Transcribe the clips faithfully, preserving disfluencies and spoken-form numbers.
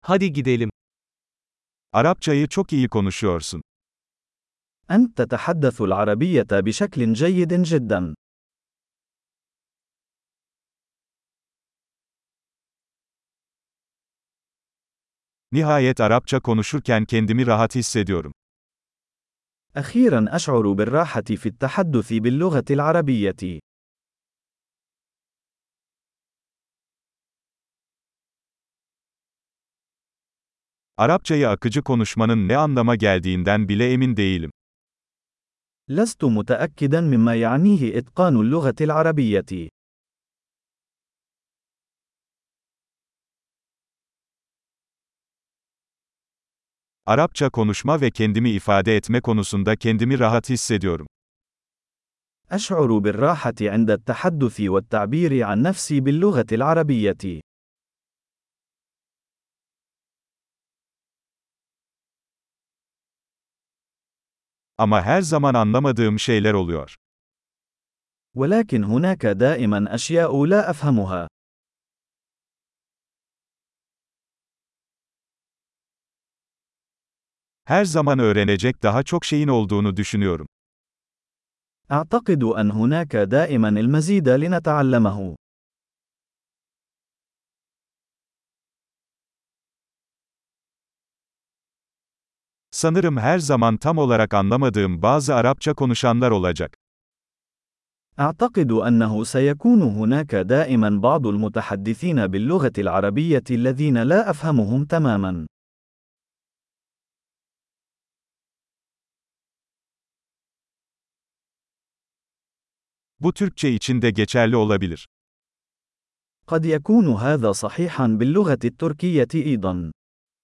Hadi gidelim. Arapçayı çok iyi konuşuyorsun. أنت تتحدث العربية بشكل جيد جدا. Nihayet Arapça konuşurken kendimi rahat hissediyorum. أخيرا أشعر بالراحة في التحدث باللغة العربية. Arapçayı akıcı konuşmanın ne anlama geldiğinden bile emin değilim. لست متأكدا مما يعنيه إتقان اللغة العربية. Arapça konuşma ve kendimi ifade etme konusunda kendimi rahat hissediyorum. أشعر بالراحة عند التحدث والتعبير عن نفسي باللغة العربية. Ama her zaman anlamadığım şeyler oluyor. ولكن هناك دائما أشياء لا أفهمها. Her zaman öğrenecek daha çok şeyin olduğunu düşünüyorum. أعتقد أن هناك دائما المزيد لنتعلمه. Sanırım her zaman tam olarak anlamadığım bazı Arapça konuşanlar olacak. أعتقد أنه سيكون هناك دائما بعض المتحدثين باللغة العربية الذين لا أفهمهم تماما. Bu Türkçe için de geçerli olabilir. قد يكون هذا صحيحا باللغة التركية أيضا.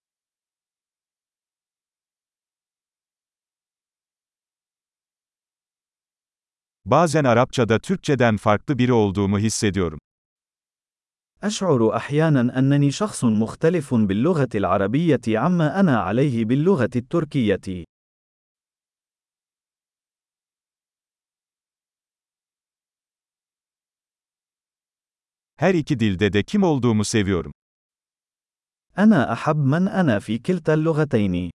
Bazen Arapçada Türkçeden farklı biri olduğumu hissediyorum. أشعر أحيانا أنني شخص مختلف باللغة العربية عما أنا عليه باللغة التركية. Her iki dilde de kim olduğumu seviyorum. أنا أحب من أنا في كلتا اللغتين.